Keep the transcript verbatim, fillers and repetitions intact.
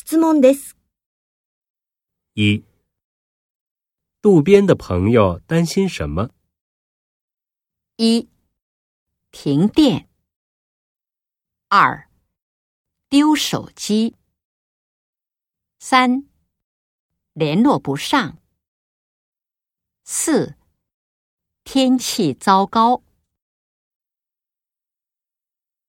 質問です。 一，渡边的朋友担心什么？ 一、停电。二、丢手机。三、联络不上。四、天气糟糕。